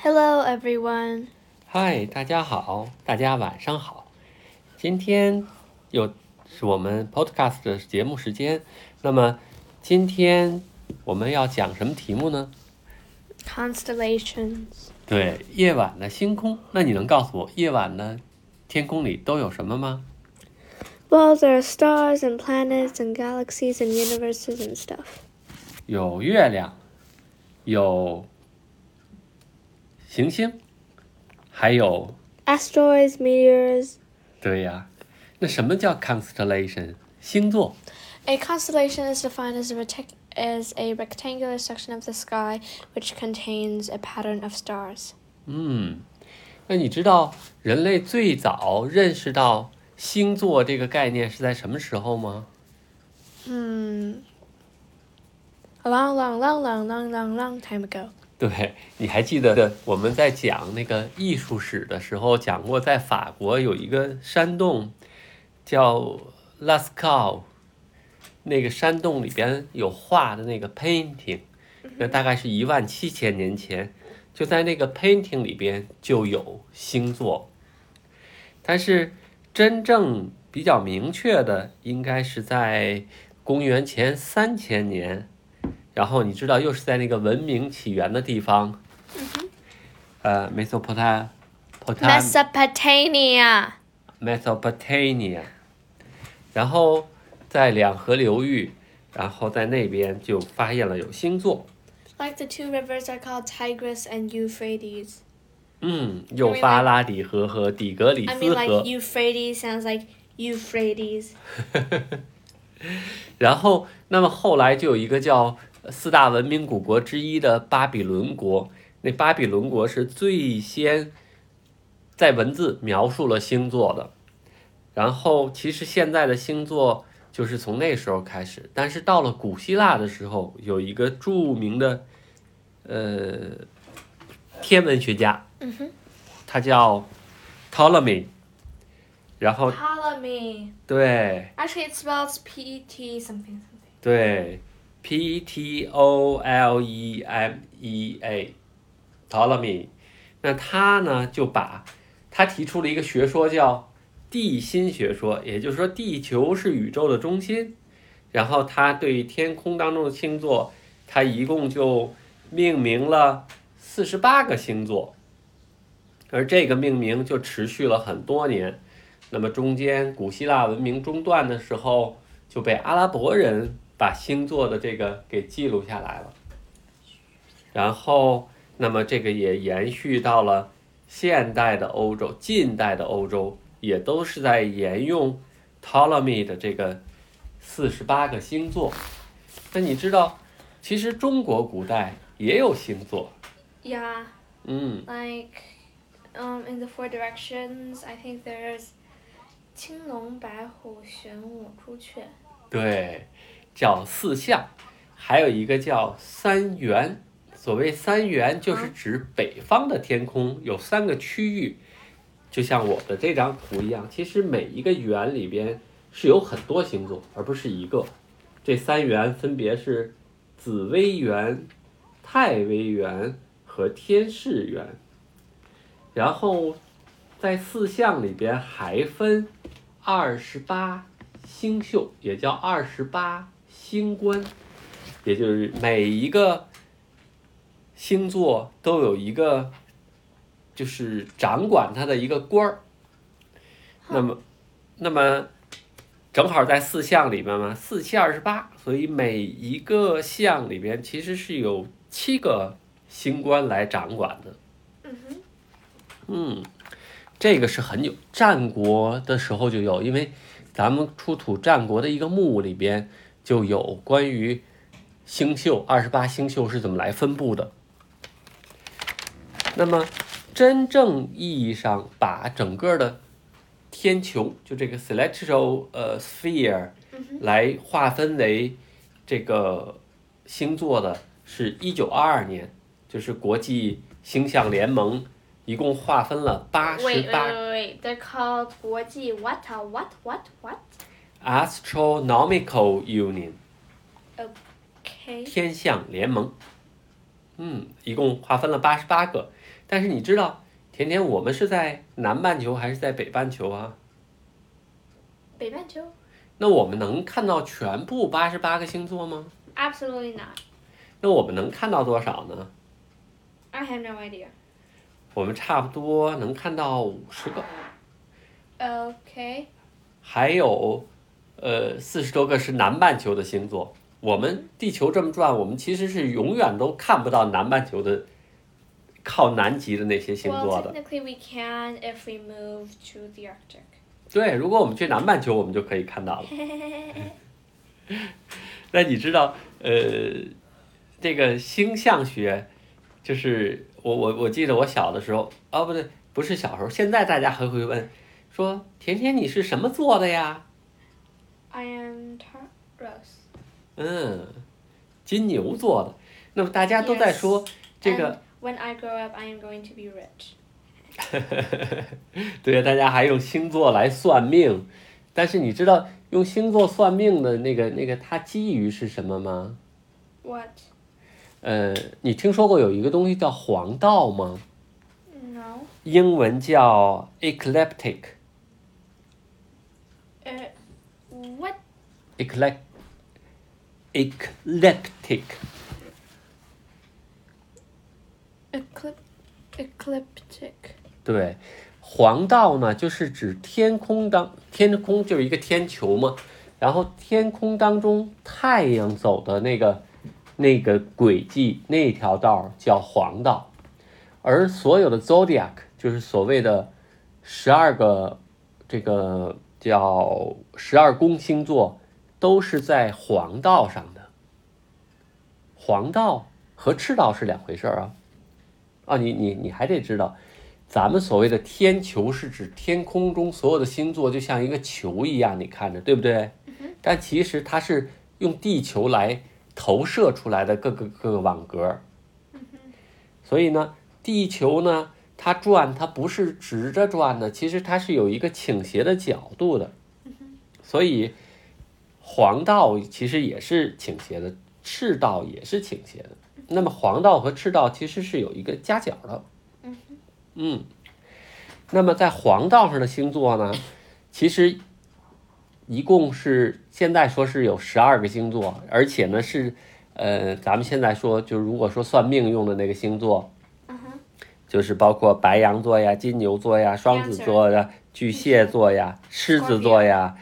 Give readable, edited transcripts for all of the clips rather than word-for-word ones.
Hello, everyone. 嗨，大家好，大家晚上好。今天又是我们 Podcast 的节目时间。那么今天我们要讲什么题目呢？ Constellations. 对，夜晚的星空。那你能告诉我夜晚的天空里都有什么吗？ Well, there are stars and planets and galaxies and universes and stuff. 有月亮，有行星，还有 Asteroids, meteors. 对呀。那什么叫 constellation 星座？ A constellation is defined as a rectangular section of the sky which contains a pattern of stars. 那你知道人类最早认识到星座这个概念是在什么时候吗？ A long time ago. 对，你还记得我们在讲那个艺术史的时候讲过，在法国有一个山洞叫 Lascaux， 那个山洞里边有画的那个 painting， 那大概是17000年前，就在那个 painting 里边就有星座，但是真正比较明确的应该是在公元前3000年。然后你知道又是在那个文明起源的地方Mesopotamia， 然后在两河流域，然后在那边就发现了有星座。 Like the two rivers are called Tigris and Euphrates. 幼发拉底河和底格里斯河。 I mean, like Euphrates sounds like Euphrates. 然后那么后来就有一个叫4大文明古国之一的巴比伦国，那巴比伦国是最先在文字描述了星座的，然后其实现在的星座就是从那时候开始，但是到了古希腊的时候，有一个著名的天文学家，他叫 Ptolemy， 然后 Ptolemy. 对 Actually, it spells P-T something. 对 Ptolemy Ptolemy， 那他呢就他提出了一个学说叫地心学说，也就是说地球是宇宙的中心，然后他对天空当中的星座，他一共就命名了48个星座，而这个命名就持续了很多年。那么中间古希腊文明中断的时候，就被阿拉伯人把星座的这个给记录下来了，然后那么这个也延续到了现代的欧洲，近代的欧洲也都是在沿用 Ptolemy 的这个48个星座。那你知道其实中国古代也有星座。 Yeah. Like in the four directions, I think there's 青龙白虎玄武朱雀。 对，叫四象，还有一个叫三元。所谓三元就是指北方的天空有3个区域，就像我的这张图一样，其实每一个圆里边是有很多星座，而不是一个。这3元分别是紫微垣、太微垣和天市垣。然后在四象里边还分28星宿，也叫28星官，也就是每一个星座都有一个就是掌管它的一个官儿。那么正好在四象里面嘛，4、7、28，所以每一个象里边其实是有7个星官来掌管的。这个是很有，战国的时候就有，因为咱们出土战国的一个墓里边就有关于星宿28星宿是怎么来分布的。那么真正意义上把整个的天球，就这个 celestial sphere 来划分为这个星座的是1922年，就是国际星象联盟一共划分了88。 Wait. They're called 国际 what? Astronomical Union。 Okay. 天象联盟。 一共划分了88个。但是你知道，甜甜，我们是在南半球还是在北半球啊？ 北半球。 那我们能看到全部88个星座吗？ Absolutely not. 那我们能看到多少呢？ I have no idea. 我们差不多能看到50个。 Okay. 还有40多个是南半球的星座。我们地球这么转，我们其实是永远都看不到南半球的靠南极的那些星座的。 Well, technically we can if we move to the Arctic. 对，如果我们去南半球，我们就可以看到了。那你知道，这个星象学，就是我记得我小的时候，不对，不是小时候，现在大家还会问，说甜甜你是什么座的呀？ I am Taurus. 金牛座的。那么大家都在说这个。 When I grow up, I am going to be rich. 对，大家还用星座来算命，但是你知道用星座算命的那个它基于是什么吗？ What? 你听说过有一个东西叫黄道吗？ No. 英文叫 ecliptic. What? Eclectic. Ecliptic. 对，黄道呢，就是指天空就是一个天球嘛，然后天空当中太阳走的那个轨迹，那条道叫黄道，而所有的 zodiac 就是所谓的12个这个叫12宫星座，都是在黄道上的。黄道和赤道是两回事啊。你还得知道，咱们所谓的天球是指天空中所有的星座就像一个球一样，你看着对不对？但其实它是用地球来投射出来的各个网格。所以呢，地球呢它转，它不是直着转的，其实它是有一个倾斜的角度的。所以黄道其实也是倾斜的，赤道也是倾斜的。那么黄道和赤道其实是有一个夹角的。那么在黄道上的星座呢，其实一共是现在说是有12个星座，而且呢是咱们现在说就如果说算命用的那个星座，就是包括白羊座呀、金牛座呀、双子座呀、巨蟹座呀、狮子座呀、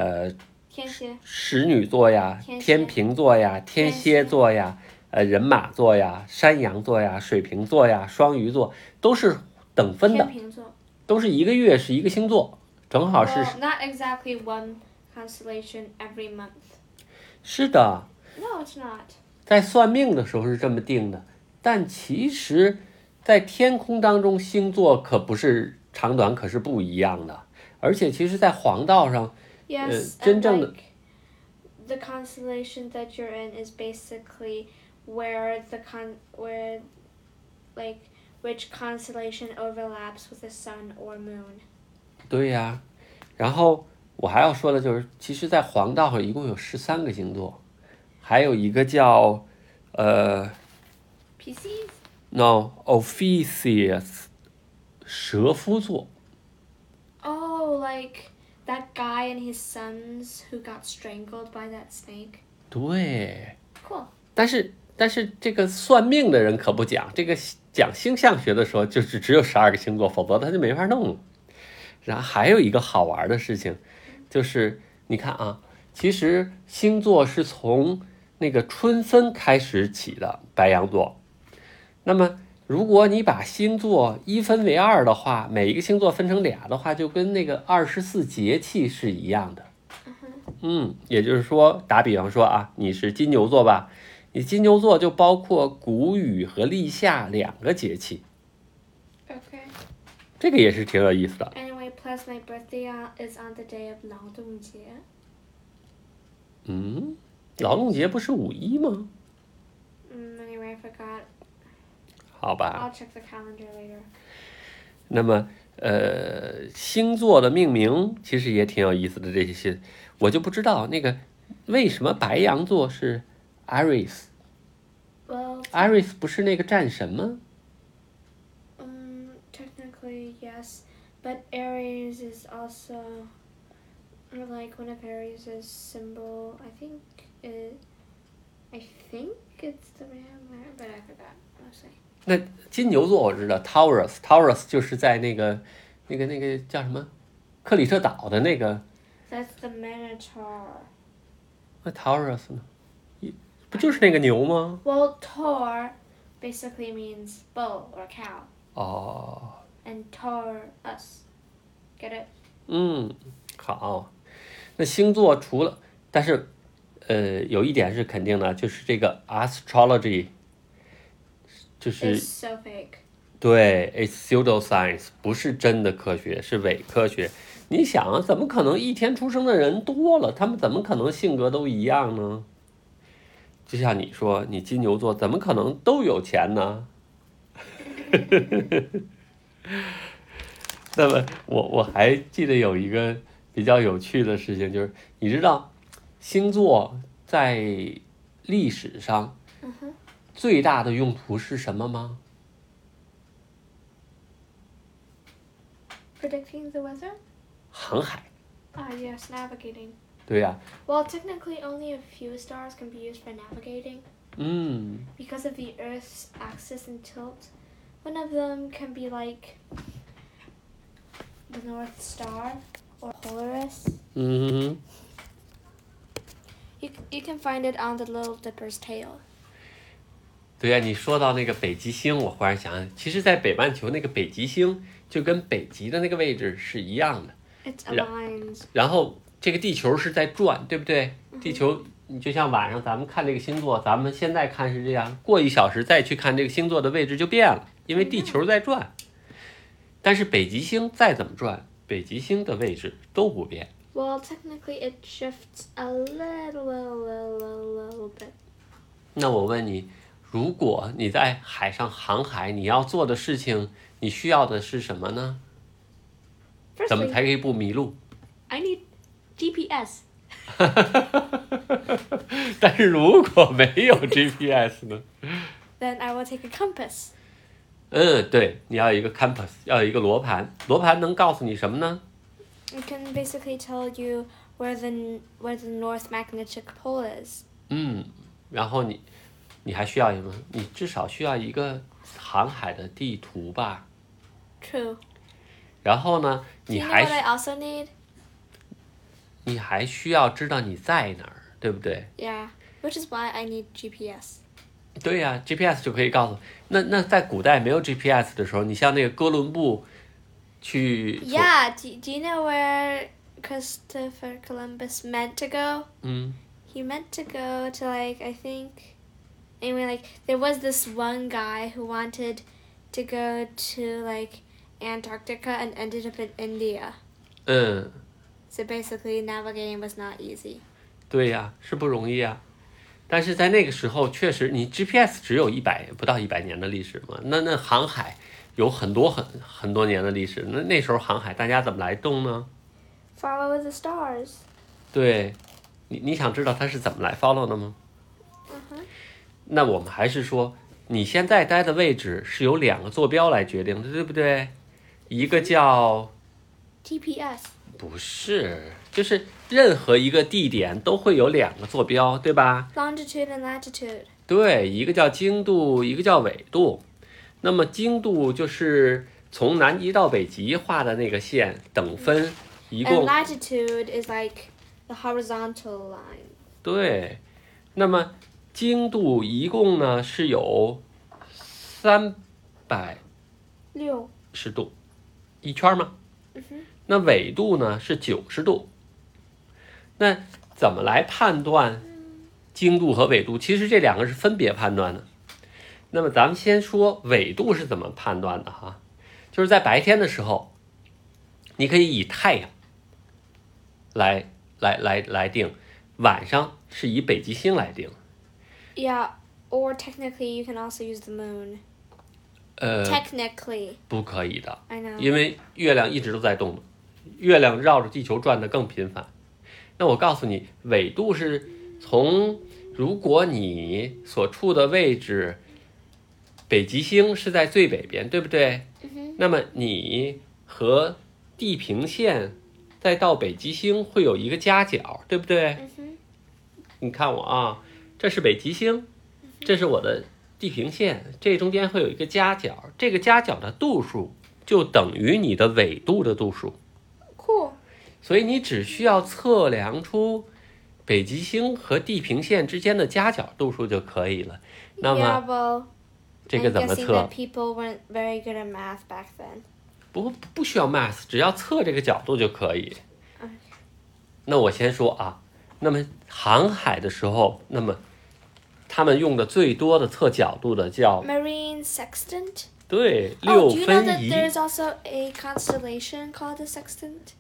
使女座呀、天平座呀、天蝎座呀、人马座呀、山羊座呀、水瓶座呀、双鱼座，都是等分的，都是一个月是一个星座，正好是。 Not exactly one constellation every month. 是的。 No, it's not. 在算命的时候是这么定的，但其实，在天空当中星座可不是长短，可是不一样的。而且，其实，在黄道上，真正的 the constellation that you're in is basically where which constellation overlaps with the sun or moon. 对呀，然后我还要说的就是，其实，在黄道上一共有13个星座，还有一个叫 Pisces? No, Ophiuchus, 蛇夫座。 Oh, like that guy and his sons who got strangled by that snake. 对。 Cool. 但是这个算命的人可不讲，这个讲星象学的时候就是只有12个星座，否则他就没法弄了。然后还有一个好玩的事情，就是你看啊，其实星座是从那个春分开始起的，白羊座。那么如果你把星座一分为2的话，每一个星座分成俩的话，就跟那个24节气是一样的。也就是说，打比方说啊，你是金牛座吧，你金牛座就包括谷雨和立夏2个节气。 Okay. 这个也是挺有意思的。 Anyway, plus my birthday is on the day of 劳动节。 劳动节不是5·1吗 ？Anyway, I forgot. 好吧。 I'll check the calendar later. 那么，星座的命名其实也挺有意思的，这些我就不知道那个为什么白羊座是 Aries。 Well, Aries 不是那个战神吗？ Technically yes, but Aries is also, or like one of Aries' symbol. I think it's the ram, but I forgot mostly. 那金牛座我知道 Taurus 就是在那个叫什么克里特岛的那个。 That's the Minotaur. 那 Taurus 呢？不就是那个牛吗？ Well, Taur basically means bull or cow. 哦。 And Taurus. Get it? 好。那星座除了，但是有一点是肯定的，就是这个 astrology 就是 It's so fake. 对 ，it's pseudoscience 不是真的科学，是伪科学。你想啊，怎么可能一天出生的人多了，他们怎么可能性格都一样呢？就像你说，你金牛座怎么可能都有钱呢？那么我还记得有一个比较有趣的事情，就是你知道星座在历史上最大的用途是什么吗？ Predicting the weather? 航海。 Yes, navigating. 对呀。 Well, technically only a few stars can be used for navigating. Because of the Earth's axis and tilt. One of them can be like the North Star or Polaris. You can find it on the Little Dipper's tail. 对呀，你说到那个北极星，我忽然想，其实在北半球那个北极星就跟北极的那个位置是一样的。 It's aligned. 然后这个地球是在转，对不对？地球，你就像晚上咱们看这个星座，咱们现在看是这样，过1小时再去看这个星座的位置就变了，因为地球在转。但是北极星再怎么转，北极星的位置都不变。 Well, technically it shifts a little bit. 那我问你，如果你在海上航海，你要做的事情，你需要的是什么呢？ 怎么才可以不迷路？ I need GPS. 但是如果没有 GPS 呢？ Then I will take a compass. 对，你要有一个 compass， 要有一个罗盘。罗盘能告诉你什么呢？ It can basically tell you where the North Magnetic Pole is. 然后你还需要什么？你至少需要一个航海的地图吧。 True. 然后呢，你 Do you know what I also need? 你还需要知道你在哪儿，对不对？ Yeah, which is why I need GPS. 对呀，GPS 就可以告诉。那在古代没有 GPS 的时候，你像那个哥伦布去。 Yeah, do you know where Christopher Columbus meant to go? He meant to go to there was this one guy who wanted to go to Antarctica and ended up in India. So basically navigating was not easy. 对呀，是不容易啊。但是在那个时候，确实你 GPS 只有不到100年的历史嘛，那航海有很多年的历史。那时候航海大家怎么来动呢？ Follow the stars. 对，你想知道它是怎么来 follow 的吗？那我们还是说，你现在待的位置是由2个坐标来决定的，对不对？一个叫 GPS. 不是，就是任何一个地点都会有2个坐标，对吧？ Longitude and latitude. 对，一个叫经度，一个叫纬度。那么经度就是从南极到北极画的那个线，等分一共。 And latitude is like the horizontal line. 对，那么经度一共呢是有360度，一圈吗？那纬度呢是90度。那怎么来判断经度和纬度？其实这2个是分别判断的。那么咱们先说纬度是怎么判断的哈，就是在白天的时候，你可以以太阳来定，晚上是以北极星来定。 Yeah, or technically you can also use the moon. Technically. 不可以的。 I know. 因为月亮一直都在动的，月亮绕着地球转得更频繁。那我告诉你，纬度是从如果你所处的位置北极星是在最北边，对不对？那么你和地平线再到北极星会有一个夹角，对不对？你看我啊，这是北极星，这是我的地平线，这中间会有一个夹角，这个夹角的度数就等于你的纬度的度数。 Cool。 所以你只需要测量出北极星和地平线之间的夹角度数就可以了。那么这个怎么测？ People weren't very good at math back then. 不需要 math， 只要测这个角度就可以。那我先说啊，那么航海的时候，那么他们用的最多的测角度的叫 Marine Sextant。 对，6分仪。 Do you know that there's also a constellation called the Sextant?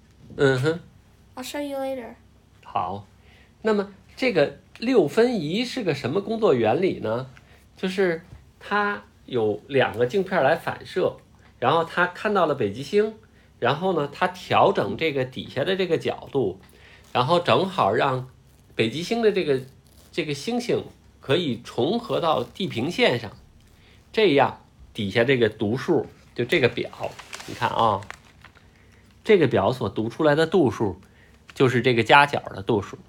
I'll show you later. 好，那么这个6分仪是个什么工作原理呢？就是它有2个镜片来反射，然后它看到了北极星，然后呢，它调整这个底下的这个角度，然后正好让北极星的这个星星可以重合到地平线上，这样底下这个读数就这个表，你看啊。这个表所读出来的度数，就是这个夹角的度数。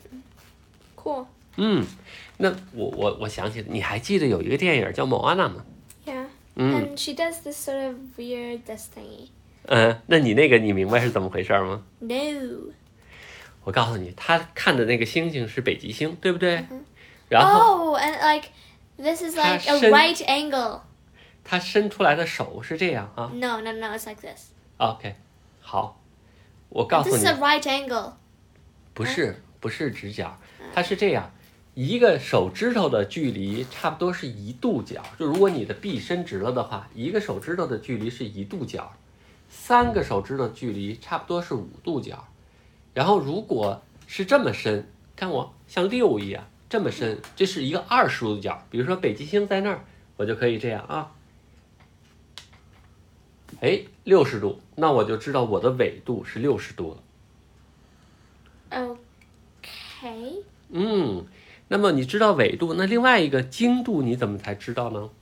Cool。 那我想起来，你还记得有一个电影叫《Moana》吗 ？Yeah。And she does this sort of weird thingy。 那你那个你明白是怎么回事吗 ？No。 我告诉你，他看的那个星星是北极星，对不对？然后 and like this is like a right angle。 他伸出来的手是这样啊 ？No, it's like this. OK。好，我告诉你 ，This is a right angle。 不是直角，它是这样，一个手指头的距离差不多是1度角，就如果你的臂伸直了的话，一个手指头的距离是1度角，3个手指头距离差不多是5度角，然后如果是这么伸，看我像6一样这么伸，这是一个20度角，比如说北极星在那儿，我就可以这样啊。60度，那我就知道我的纬度是60度了。OK。 那么你知道纬度，那另外一个经度你怎么才知道呢？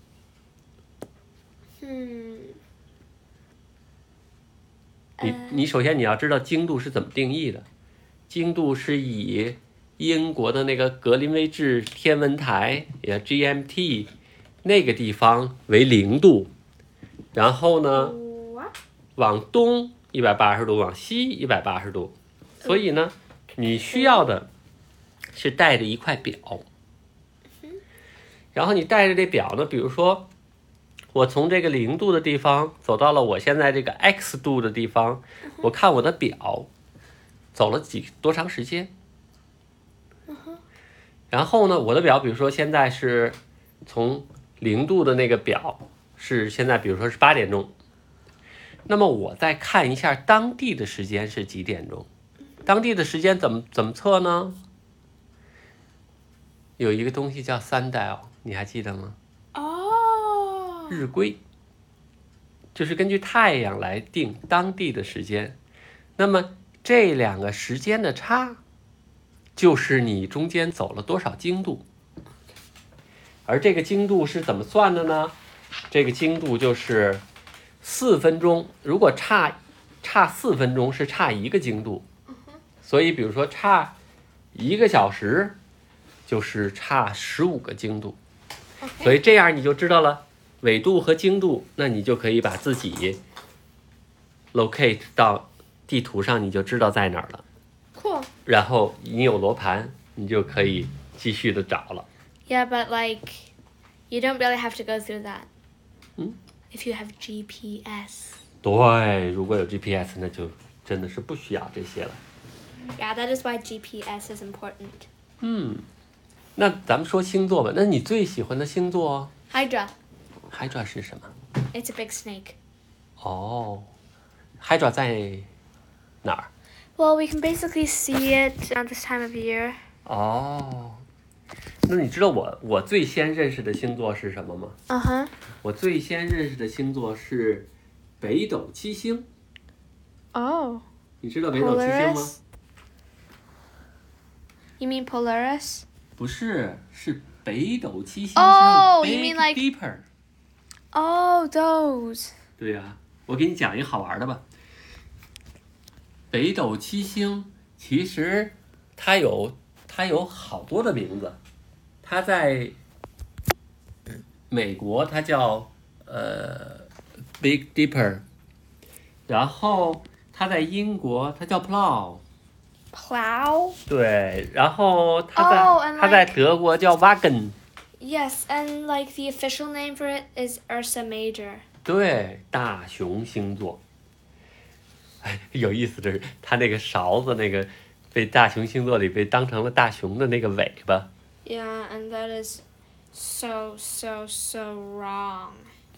你首先你要知道经度是怎么定义的，经度是以英国的那个格林威治天文台也 GMT 那个地方为0度，然后呢？往东180度，往西180度，所以呢，你需要的是带着一块表，然后你带着这表呢，比如说我从这个0度的地方走到了我现在这个 X 度的地方，我看我的表走了多长时间，然后呢，我的表比如说现在是从0度的那个表是现在比如说是8点钟。那么我再看一下当地的时间是几点钟？当地的时间怎么测呢？有一个东西叫 sundial， 你还记得吗？日晷，就是根据太阳来定当地的时间。那么这2个时间的差，就是你中间走了多少经度。而这个经度是怎么算的呢？这个经度就是4分钟，如果差4分钟是差1个经度，所以比如说差1个小时就是差15个经度，所以这样你就知道了纬度和经度，那你就可以把自己 locate 到地图上，你就知道在哪儿了。 Cool。 然后你有罗盘，你就可以继续的找了。 Yeah, but like you don't really have to go through that. If you have GPS. 对，如果有 GPS， 那就真的是不需要这些了。 Yeah, that is why GPS is important. 那咱们说星座吧，那你最喜欢的星座 ？Hydra 是什么？ It's a big snake. Hydra 在哪儿？ Well, we can basically see it at this time of year. 那你知道我最先认识的星座是什么吗？我最先认识的星座是北斗七星。你知道北斗七星吗？ You mean Polaris? 不是，是北斗七星。 Oh, you mean like Dipper. Oh, those. 对呀，我给你讲一个好玩的吧。北斗七星其实它有好多的名字，它在美国它叫Big Dipper， 然后它在英国它叫 Plow。 对，然后它在德国叫 Wagen。Yes, and like the official name for it is Ursa Major. 对，大熊星座。哎，有意思的是，它那个勺子那个被大熊星座里被当成了大熊的那个尾巴。 Yeah, and that is so wrong.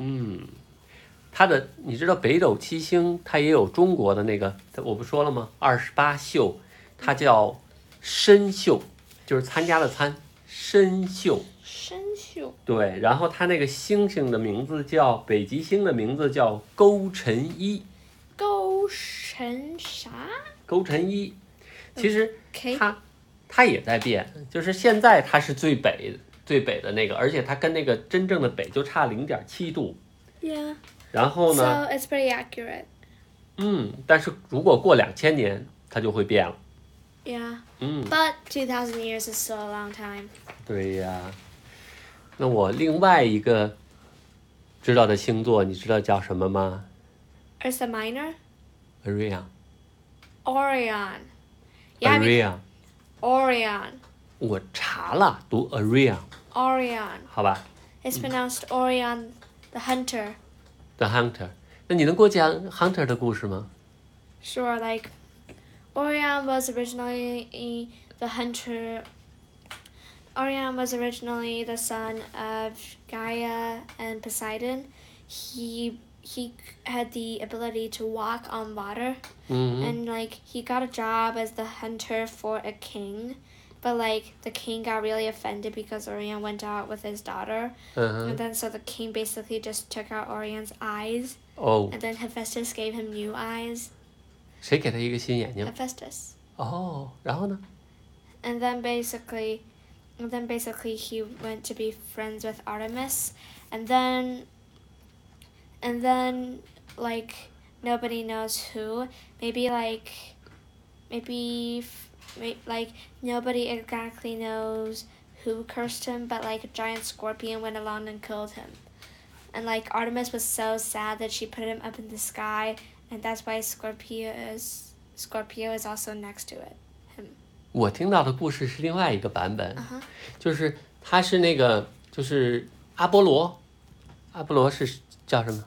你知道北斗七星，它也有中国的那个，我不说了吗？28宿，它叫参宿，就是参加的参，参宿。 参宿。 对，然后它那个星星的名字叫北极星的名字叫勾陈一。 勾陈啥？ 勾陈一，其实它也在变，就是现在它是最北的那个，而且它跟那个真正的北就差0.7度。 Yeah. 然后呢 ？So it's pretty accurate. 但是如果过2000年，它就会变了。 Yeah. But 2000 years is still a long time. 对呀。那我另外一个知道的星座，你知道叫什么吗？ Ursa Minor? Orion. Yeah, Orion. 我查了，读 Orion. 好吧。 It's pronounced Orion the Hunter. The Hunter. 那你能给我讲 Hunter 的故事吗？ Sure, like Orion was originally the hunter. Orion was originally the son of Gaia and Poseidon. He had the ability to walk on water, and like he got a job as the hunter for a king, but like the king got really offended because Orion went out with his daughter, and then so the king basically just took out Orion's eyes, and then Hephaestus gave him new eyes. 谁给他一个新眼睛 Hephaestus. 然后呢 And then basically he went to be friends with Artemis, and then like nobody knows who. Maybe nobody exactly knows who cursed him, but like a giant scorpion went along and killed him. And like Artemis was so sad that she put him up in the sky, and that's why Scorpio is also next to it. 我听到的故事是另外一个版本，就是他是那个就是阿波罗是叫什么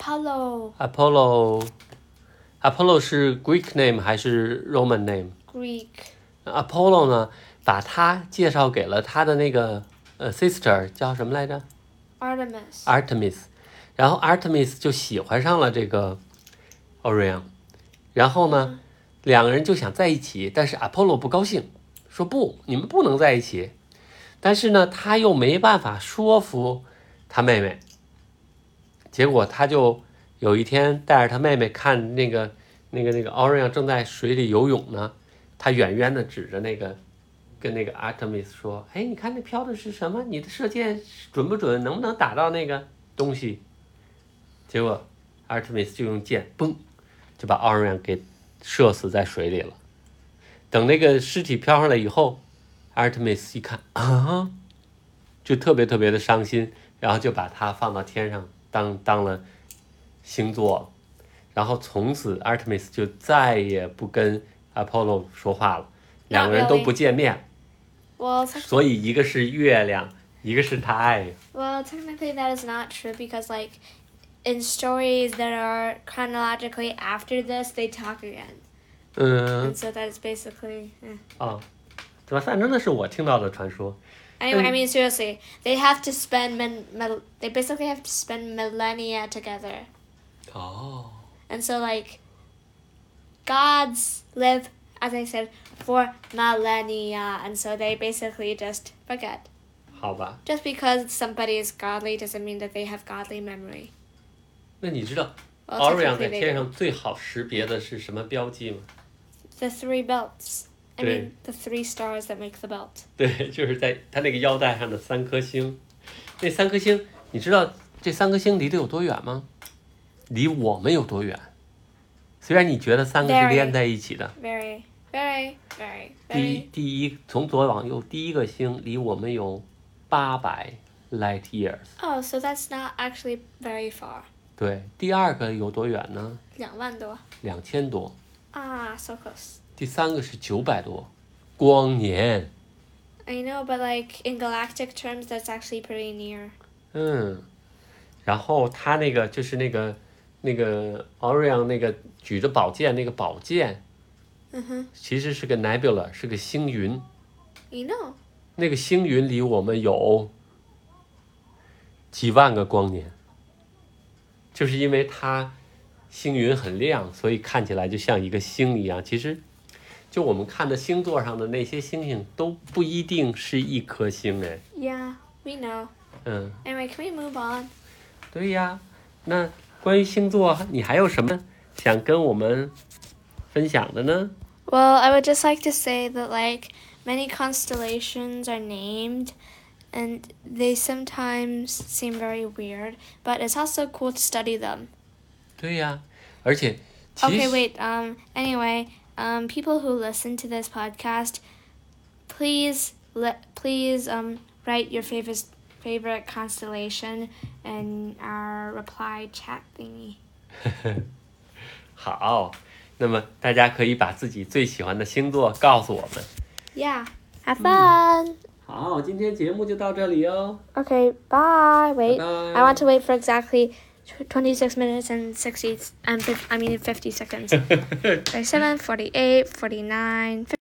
Apollo 是 Greek name 还是 Roman name？ Greek。 Apollo 呢，把他介绍给了他的那个sister 叫什么来着 Artemis， 然后 Artemis 就喜欢上了这个 Orion， 然后呢两个人就想在一起，但是 Apollo 不高兴，说不，你们不能在一起。但是呢，他又没办法说服他妹妹，结果他就有一天带着他妹妹看那个 Orion 正在水里游泳呢，他远远的指着跟那个 Artemis 说：“哎，你看那飘的是什么？你的射箭准不准？能不能打到那个东西？”结果 Artemis 就用箭，嘣，就把 Orion 给射死在水里了。等那个尸体飘上来以后 ，Artemis 一看啊，就特别的伤心，然后就把他放到天上当了星座了。然后从此 Artemis 就再也不跟 Apollo 说话了，两个人都不见面。所以一个是月亮，一个是太阳。 Well, technically that is not true because like in stories that are chronologically after this, they talk again. And so that is basically. 对吧？反正那是我听到的传说。 Anyway, I mean seriously, they have to spend they basically have to spend millennia together. And so like gods live, as I said, for millennia, and so they basically just forget. 好吧。 Just because somebody is godly doesn't mean that they have godly memory. 那你知道 Orion 在天上最好识别的是什么标记吗？ The 3 belts. I mean, the 3 stars that make the belt. 对，就是在他那个腰带上的3颗星。那3颗星，你知道这3颗星离得有多远吗？离我们有多远？虽然你觉得3个是连在一起的。 Very, very, very, very. 从左往右，第一个星离我们有800 light years. Oh, so that's not actually very far. 对，第二个有多远呢 2万多。 2000多。 so close. 第三个是900多光年。 I know, but like in galactic terms, that's actually pretty near. 然后他那个就是那个 Orion 那个举着宝剑那个宝剑，其实是个 nebula， 是个星云。 You know. 那个星云离我们有几万个光年，就是因为它星云很亮，所以看起来就像一个星一样。其实，就我们看的星座上的那些星星都不一定是一颗星哎。 Yeah, we know. Anyway, can we move on? 对呀，那关于星座，你还有什么想跟我们分享的呢？ Well, I would just like to say that like many constellations are named, and they sometimes seem very weird, but it's also cool to study them. 对呀，而且其实 Okay, wait. Anyway, people who listen to this podcast, please write your favorite constellation in our reply chat thingy. 好，那么大家可以把自己最喜欢的星座告诉我们。 Yeah, have fun. 好，今天节目就到这里哦。 Okay, bye. Wait, Bye. I want to wait for exactly 26 minutes and 50 seconds. 37, 48, 49, 50.